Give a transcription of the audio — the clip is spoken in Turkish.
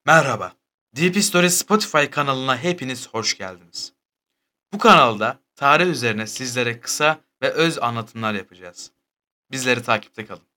Merhaba. Deep History Spotify kanalına hepiniz hoş geldiniz. Bu kanalda tarih üzerine sizlere kısa ve öz anlatımlar yapacağız. Bizleri takipte kalın.